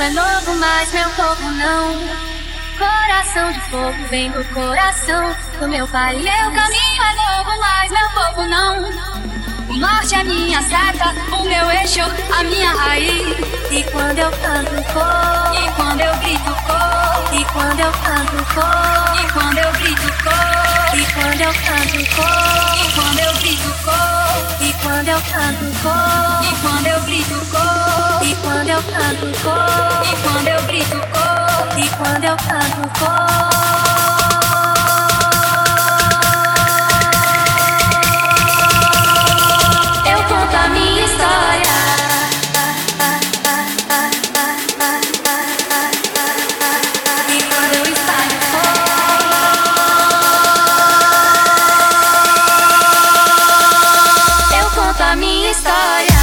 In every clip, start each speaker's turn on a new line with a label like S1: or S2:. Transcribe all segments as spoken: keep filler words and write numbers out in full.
S1: é novo, mas meu povo não. Coração de fogo vem do coração do meu pai. Meu caminho é novo, mas meu povo não. O norte é minha seta, o meu eixo, a minha raiz. E quando eu canto cor, e quando eu grito cor, e quando eu canto cor, e quando eu grito cor, e quando eu canto cor, e quando eu grito cor, e quando eu canto cor, e quando eu grito cor, e quando eu canto cor, e quando eu grito cor, e quando eu canto cor. Eu conto a minha história. E quando eu espalho fora, eu conto a minha história.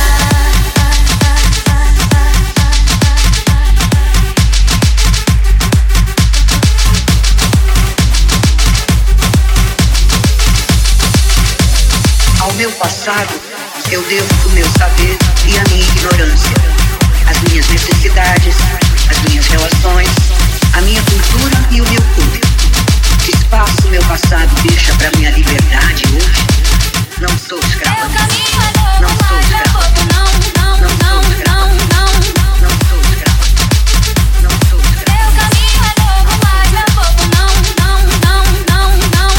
S2: Ao meu passado, eu devo o meu saber e a minha ignorância, as minhas necessidades, as minhas relações, a minha cultura e o meu corpo. Que espaço meu passado deixa para minha liberdade hoje? Não sou escrava.
S1: Meu caminho é novo,
S2: Não sou
S1: mas meu
S2: escrava.
S1: povo não, não,
S2: Não sou
S1: não,
S2: escrava.
S1: não, não.
S2: Não sou escrava. Não sou escrava.
S1: Meu caminho é novo, mas meu povo não, não, não, não, não.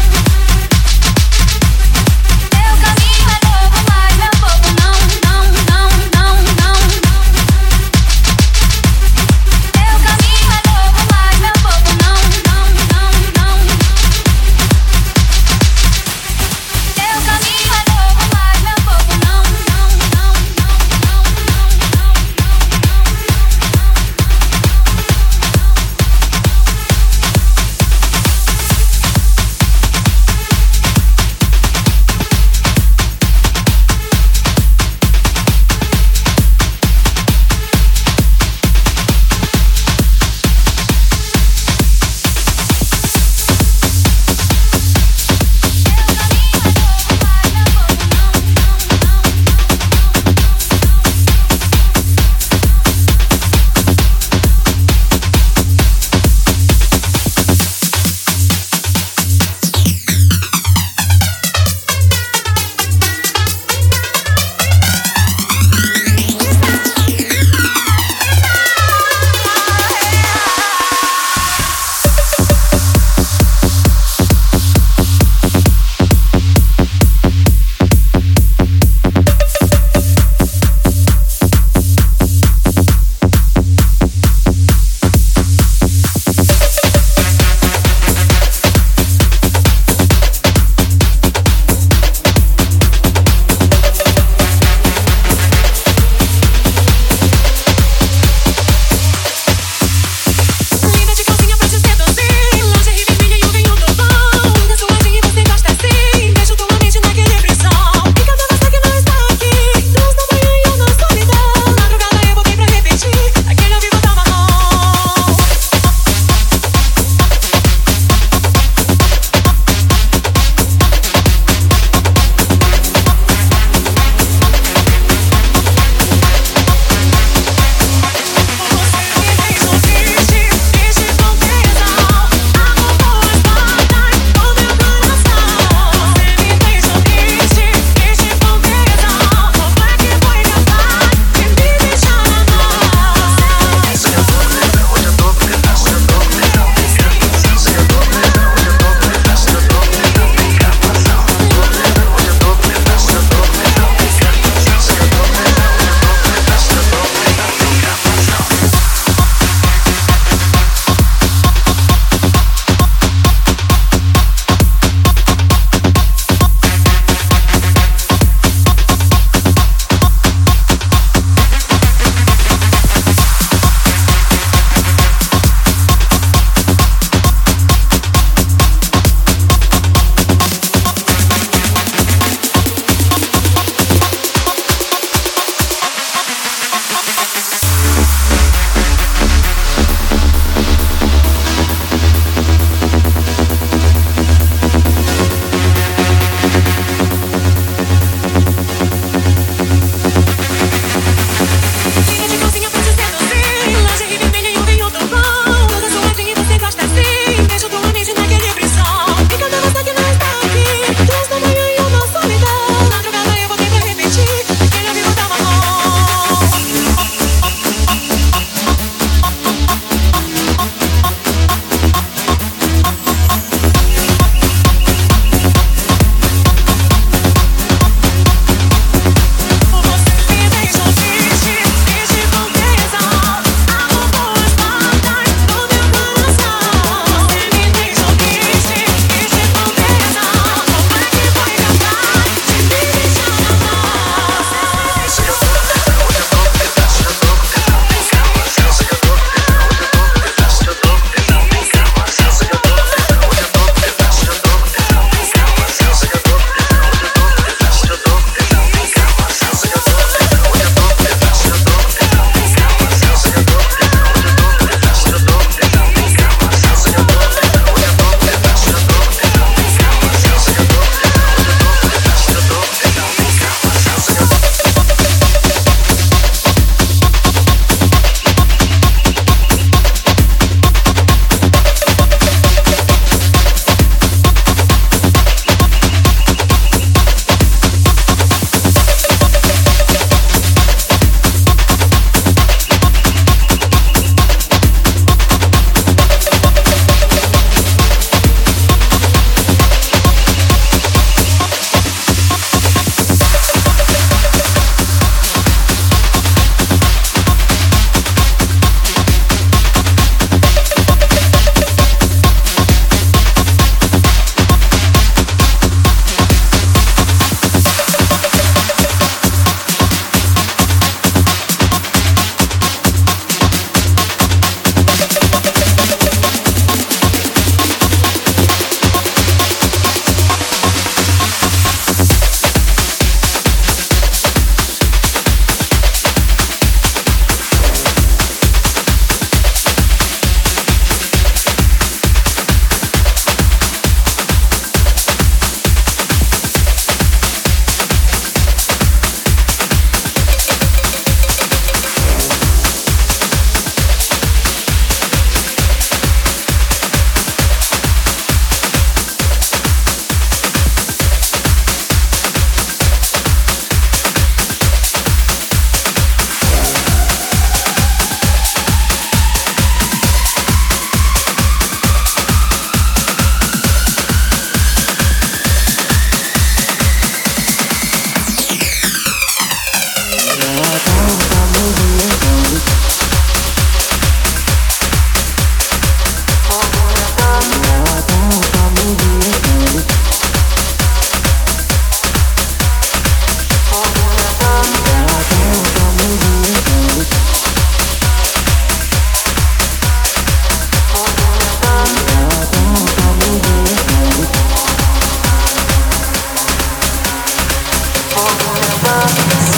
S1: Meu caminho é novo, mas meu povo não, não, não, não, não. Meu caminho é novo, mas meu povo não, não, não, não.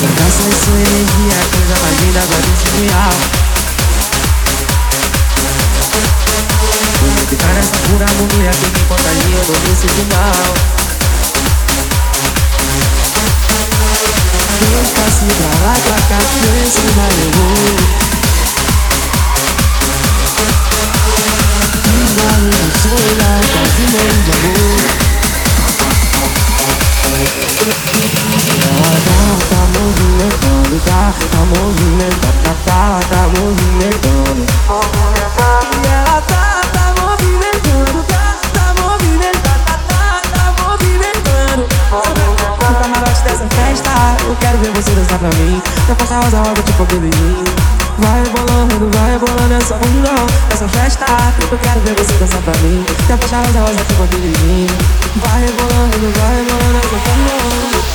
S3: Essa é sua energia, coisa mais linda vai ser real. Vou ficar nessa pura harmonia que me contagia, eu não me sinto mal. Deus passe pra lá, pra cá, pensa e vai levou. Desvale no seu olhar, quase meio de amor. Ela tá, tá movimentando, tá, tá movimentando, tá, tá, tá movimentando. E ela tá, tá movimentando, tá, tá movimentando, tá, tá, tá movimentando. No camarote dessa festa, eu quero ver você dançar pra mim. Na faixa rosa, roda tipo Billie. Vai rebolando, vai rebolando essa bundão. Nessa festa, eu quero ver você dançar pra mim. Na faixa rosa, rosa tipo Billie. Vai rebolando, vai rebolando essa bundão.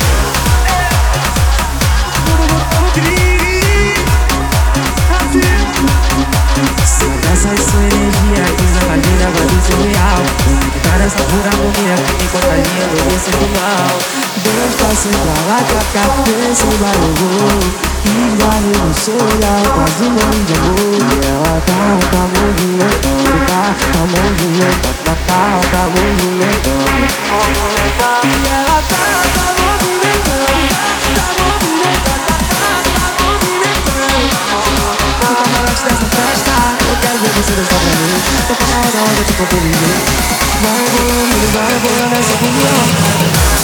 S3: Essa é sua energia, coisa mais linda, vai ser surreal. Ficar nessa pura harmonia que me contagia, não me sinto mal. Deus passe pra lá, pra cá, pensa e vai levou. E vai no seu olhar, quase um monte de amor. E ela tá, tá movimentando, tá, tá movimentando, tá, tá, tá movimentando. E ela tá, tá movimentando, tá, tá movimentando, tá, tá, tá movimentando. No camarote dessa festa, eu quero ver você dançar pra mim. Tô com a roda, roda, tipo Billie. Vai rebolando, vai rebolando essa bundão.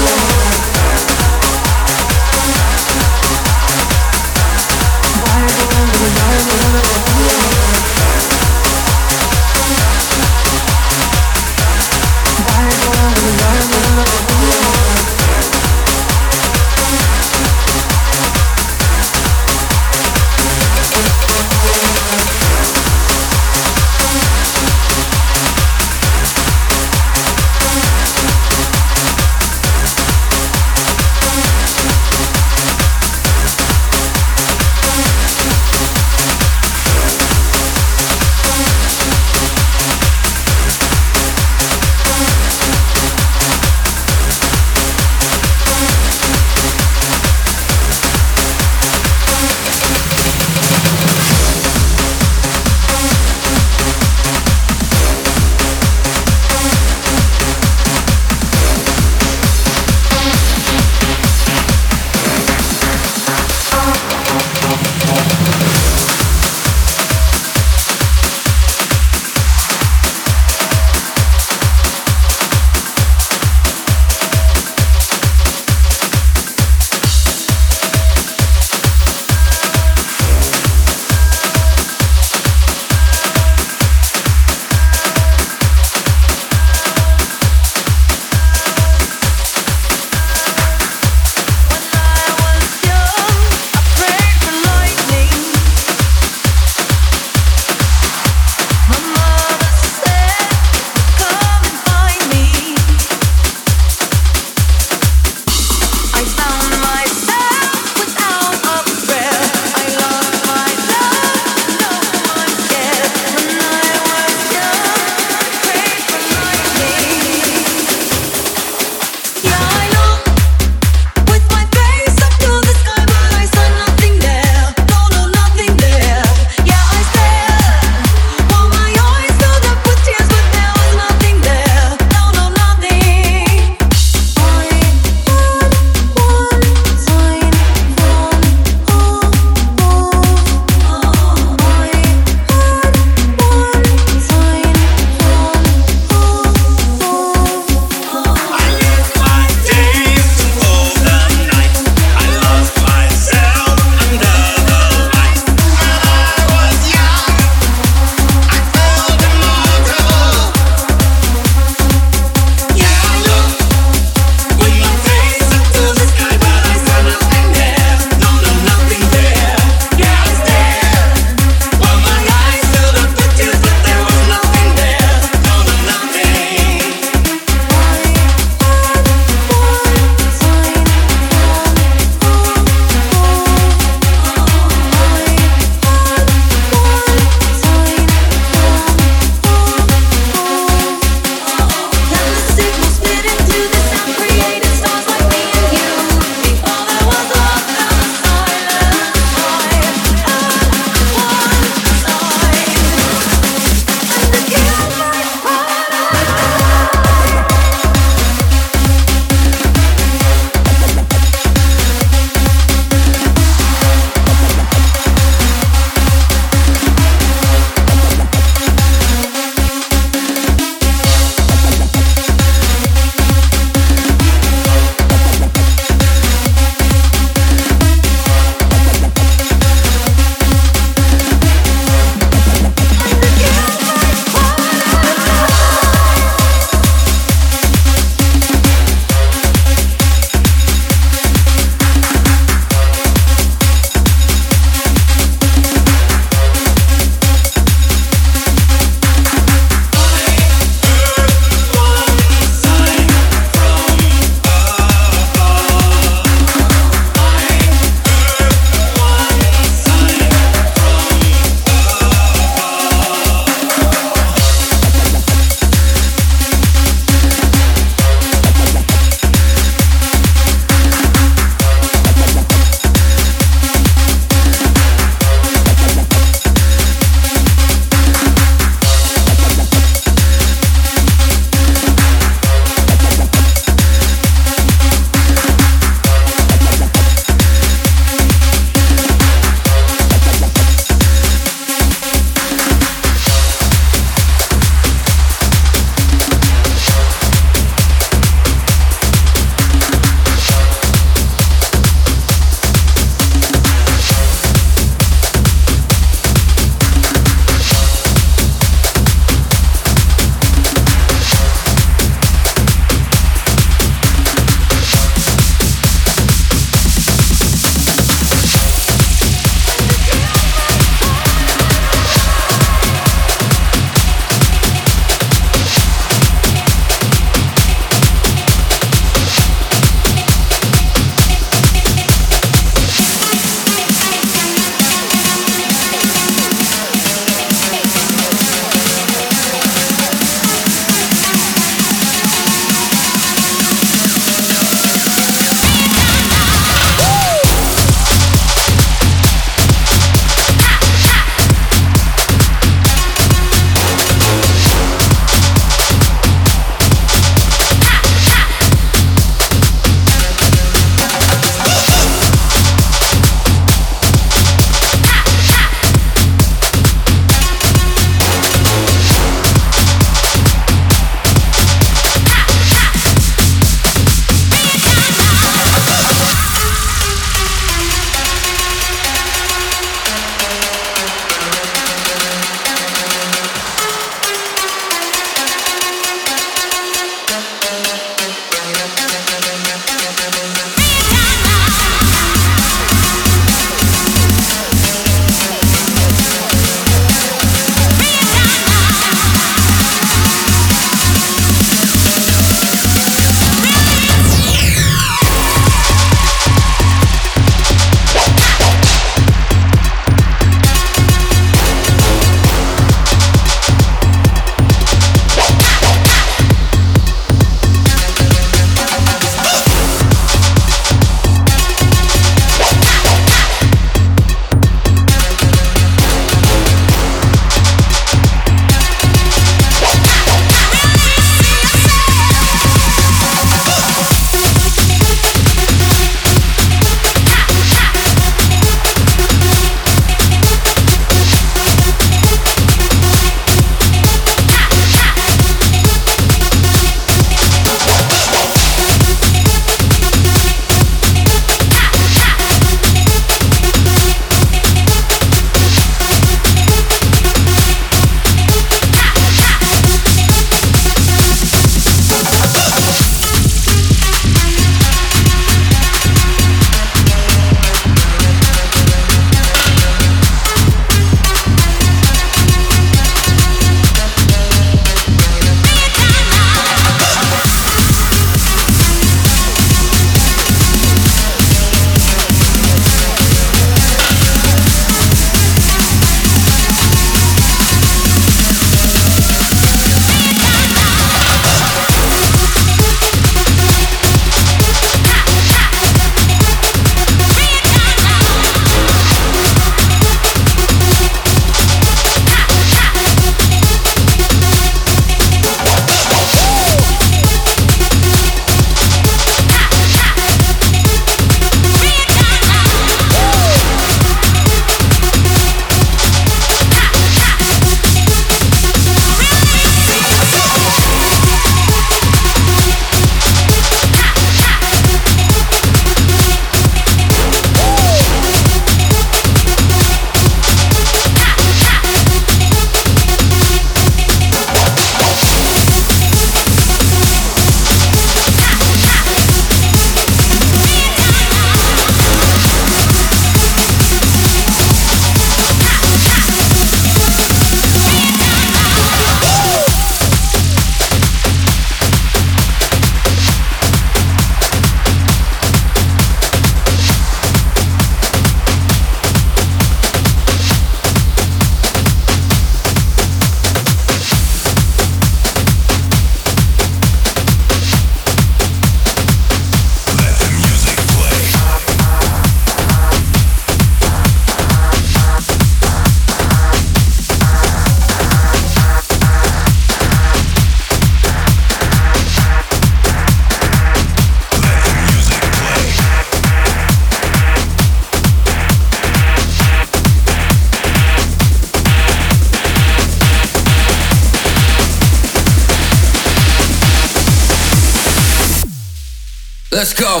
S4: Let's go.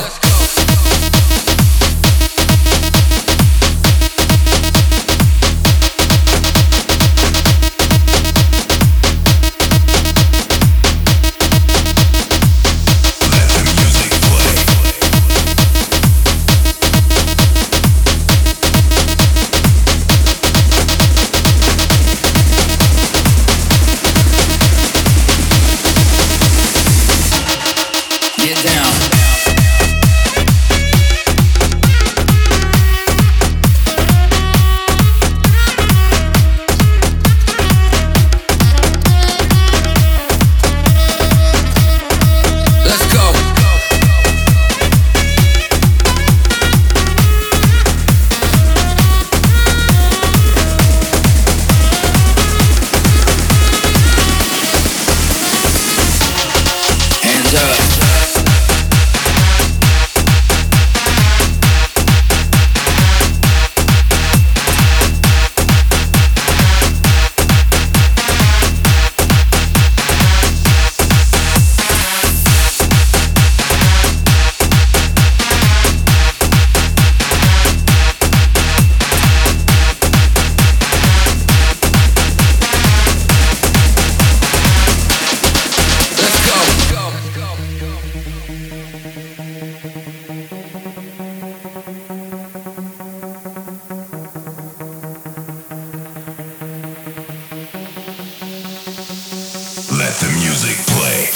S5: Let the music play.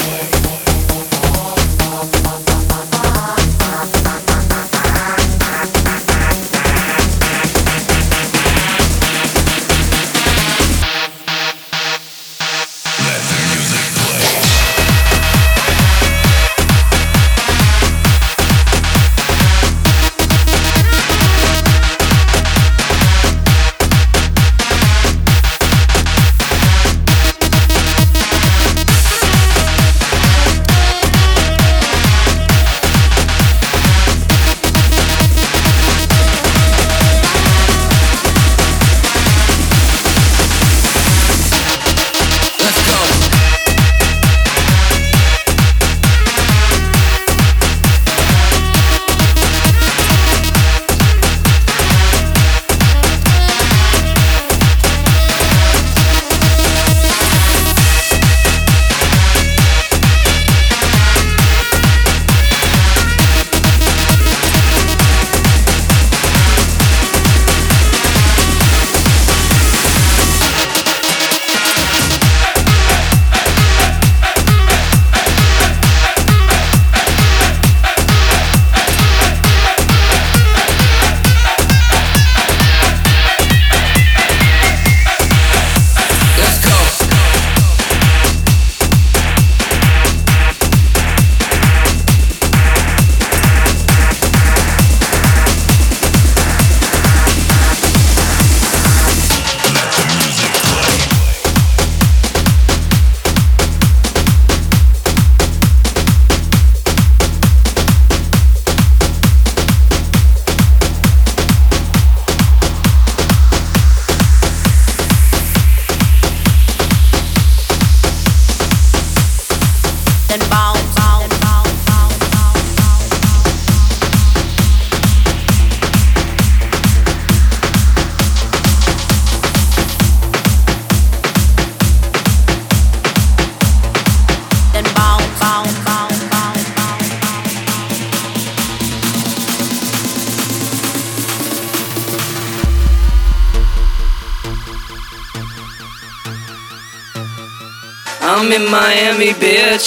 S6: I'm in Miami, bitch.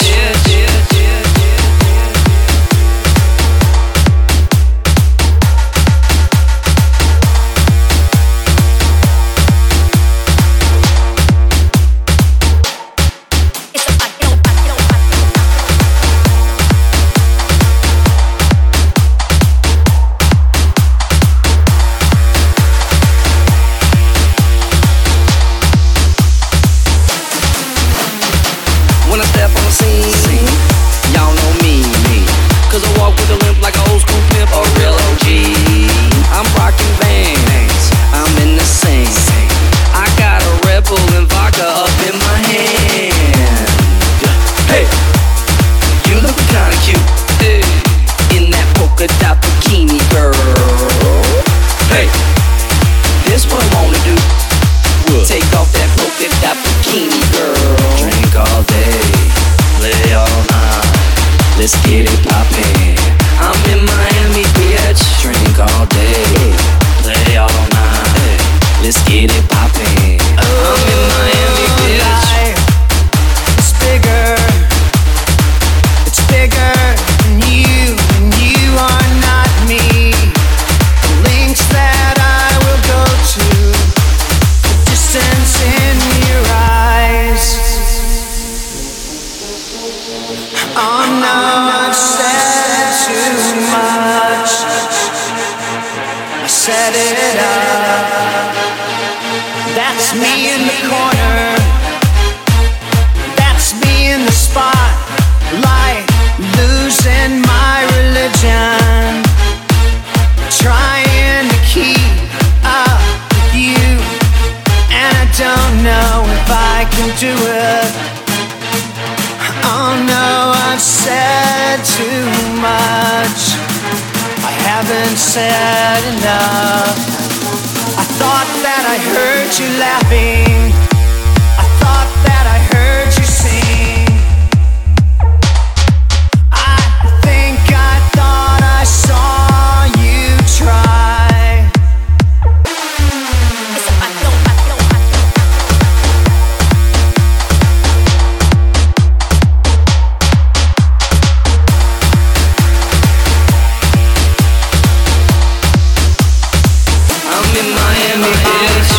S6: When I step on the scene, y'all know me, me. Cause I walk with a limp like an old school pimp, a real O G. I'm rocking Vans, I'm in the scene. I got a Red Bull and vodka up in my hand. Hey, you look kinda cute. Hey, let's get it poppin'. I'm in Miami, bitch. Drink all day, play all night. Let's get it poppin'. I'm in Miami, bitch.
S4: It's bigger, it's bigger than you, and you are not me. The links that I will go to, the distance in your eyes. Oh no, I've said too much. I set it up. That's me in the corner. That's me in the spotlight, losing my religion, trying to keep up with you, and I don't know if I can do it. Oh no, I've said too much. I haven't said enough. I thought that I heard you laughing. I thought that I heard you sing. I think I thought I saw you try.
S6: I'm in Miami, bitch.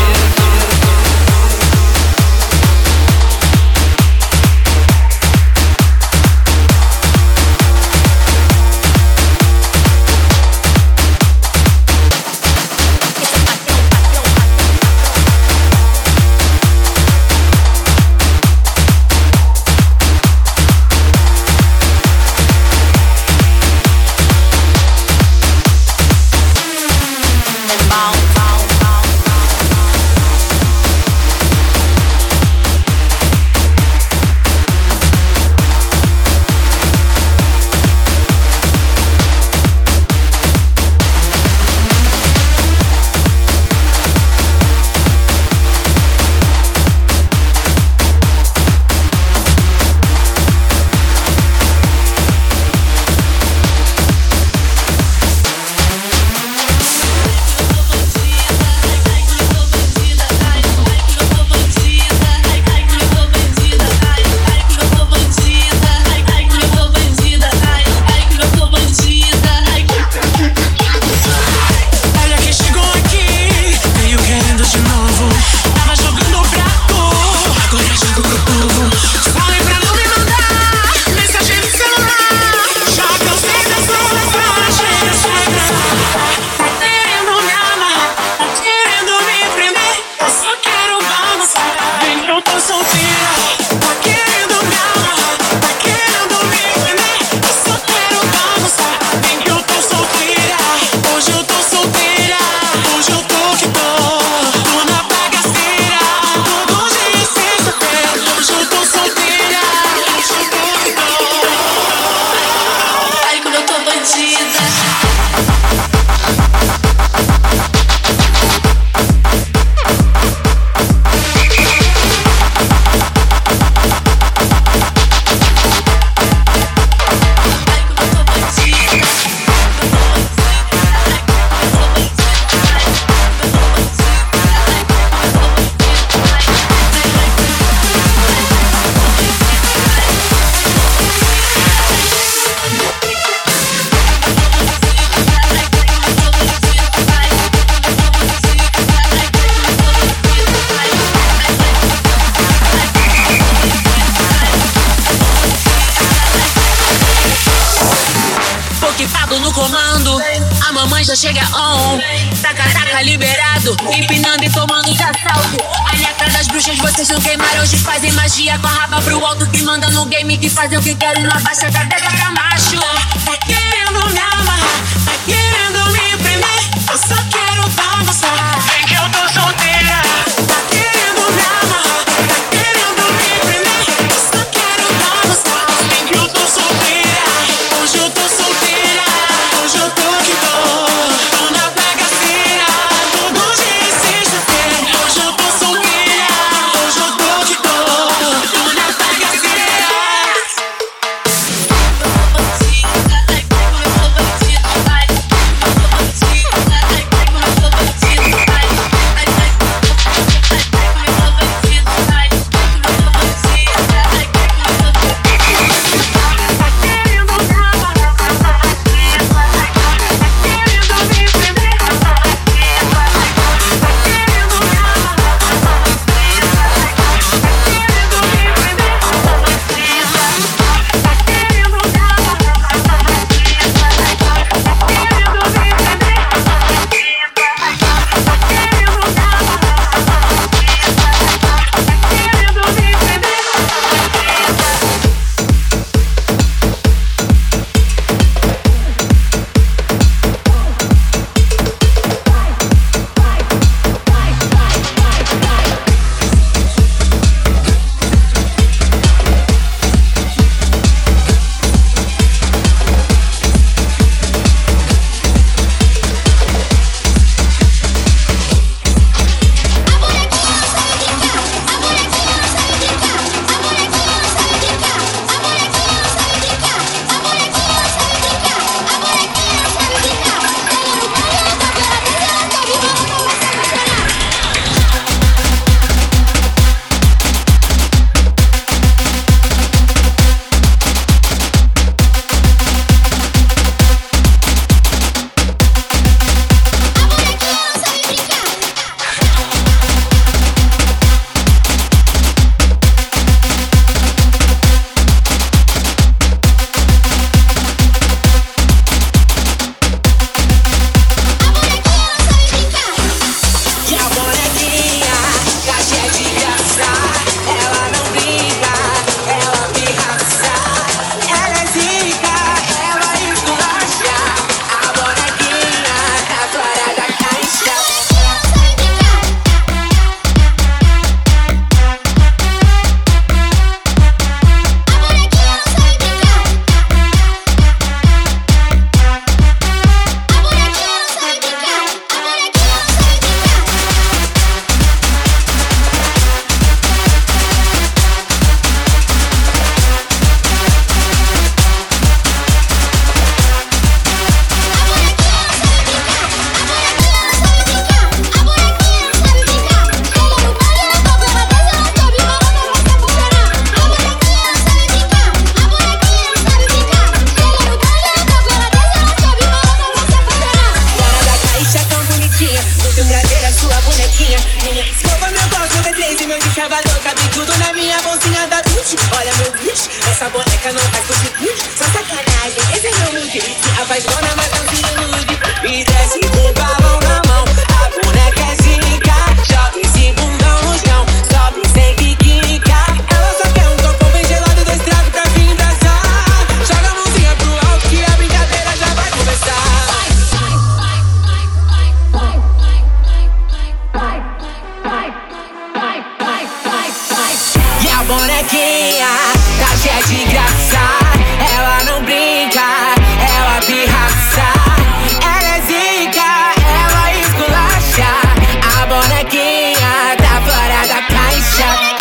S5: já chega on. Taca, taca, liberado, empinando e tomando de assalto. A letra das bruxas vocês não queimaram. Hoje fazem magia com a raba pro alto. Que manda no game, que fazem o que querem. Não abaixa a cabeça pra macho. Tá querendo me amarrar, tá querendo me prender. Eu só quero balançar, vem que eu tô solteira. Tá querendo me amarrar, tá querendo me prender. Eu só quero balançar, vem que eu tô solteira. Hoje eu tô solteira, hoje eu tô que tô. Tô na bagaceira, todo dia é sexta-feira. Hoje eu tô solteira, hoje eu tô que tô. Tô na bagaceira. na minha bolsinha da Gucci. Olha meu bicho, essa boneca não faz cuti-cuti. Só sacanagem, esse é meu mood. Se apaixona, mas não se ilude. E desce com o balão na mão. A boneca é zica. Joga esse bundão no chão. Sobe sem que quica. Ela só quer um copão bem gelado do estrago pra vir dançar. Joga a mãozinha pro alto que a brincadeira já vai começar. E a bonequinha tá cheia de graça. Ela não brinca, ela pirraça. Ela é zica, ela esculacha. A bonequinha tá fora da caixa.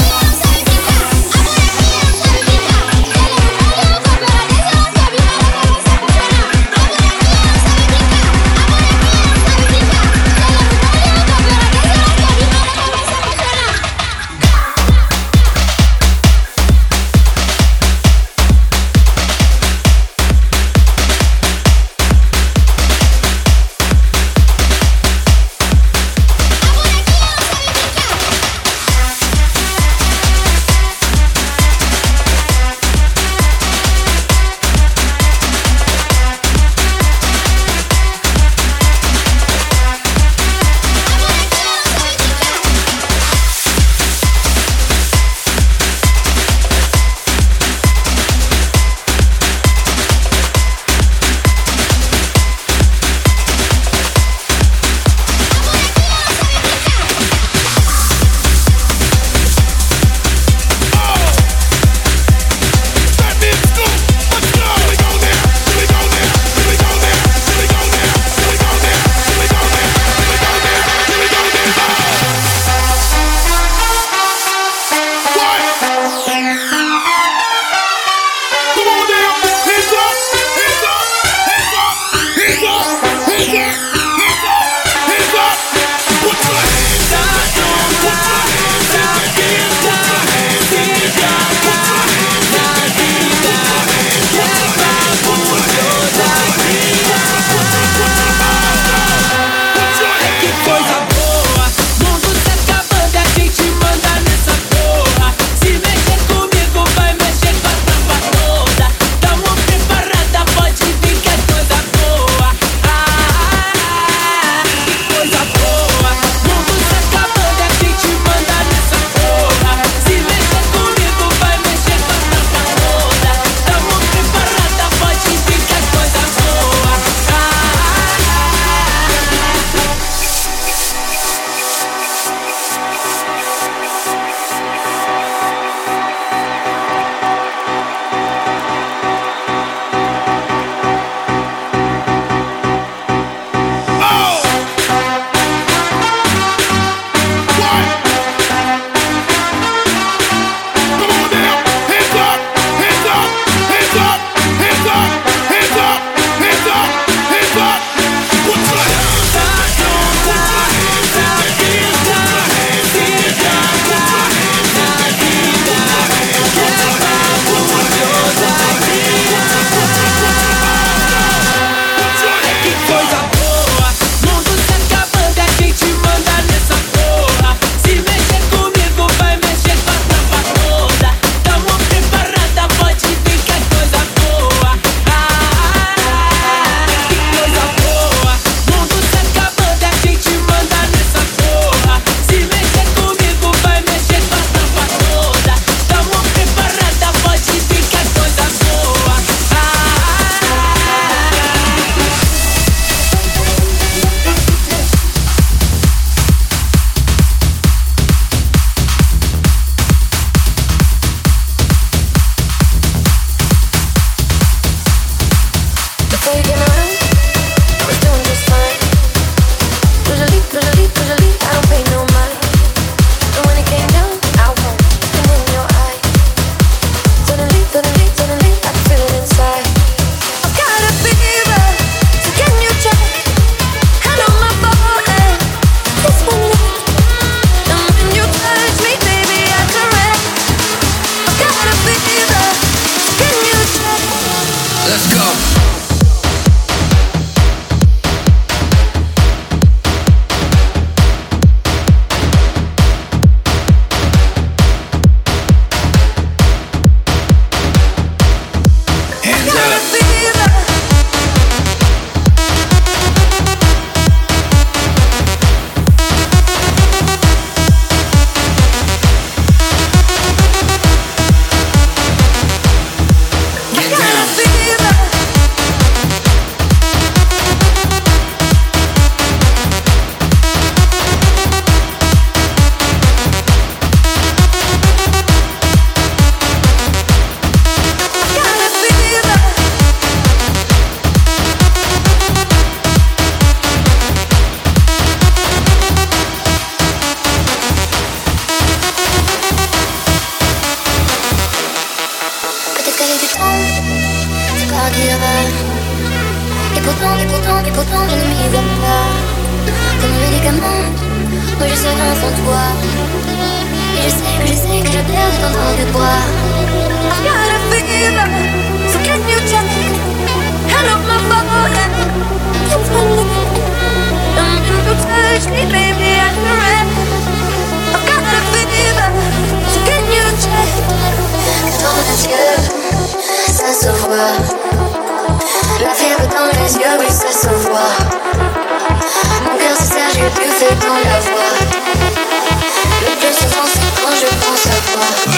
S1: pourtant, et pourtant, et pourtant je ne m'y vois pas. Comme un médicament, moi je serai sans toi. Et je sais que je sais que je perds ton temps de bois. I've got a fever, so can you check? Hello my phone, it's funny. Don't you touch me baby, I'm red. I've got a fever, so can you check? Dans tes yeux, ça se voit. La fièvre dans les yeux, oui ça se voit. Mon cœur se serre, j'ai du feu dans la voix. Le plus souvent c'est quand je pense à toi.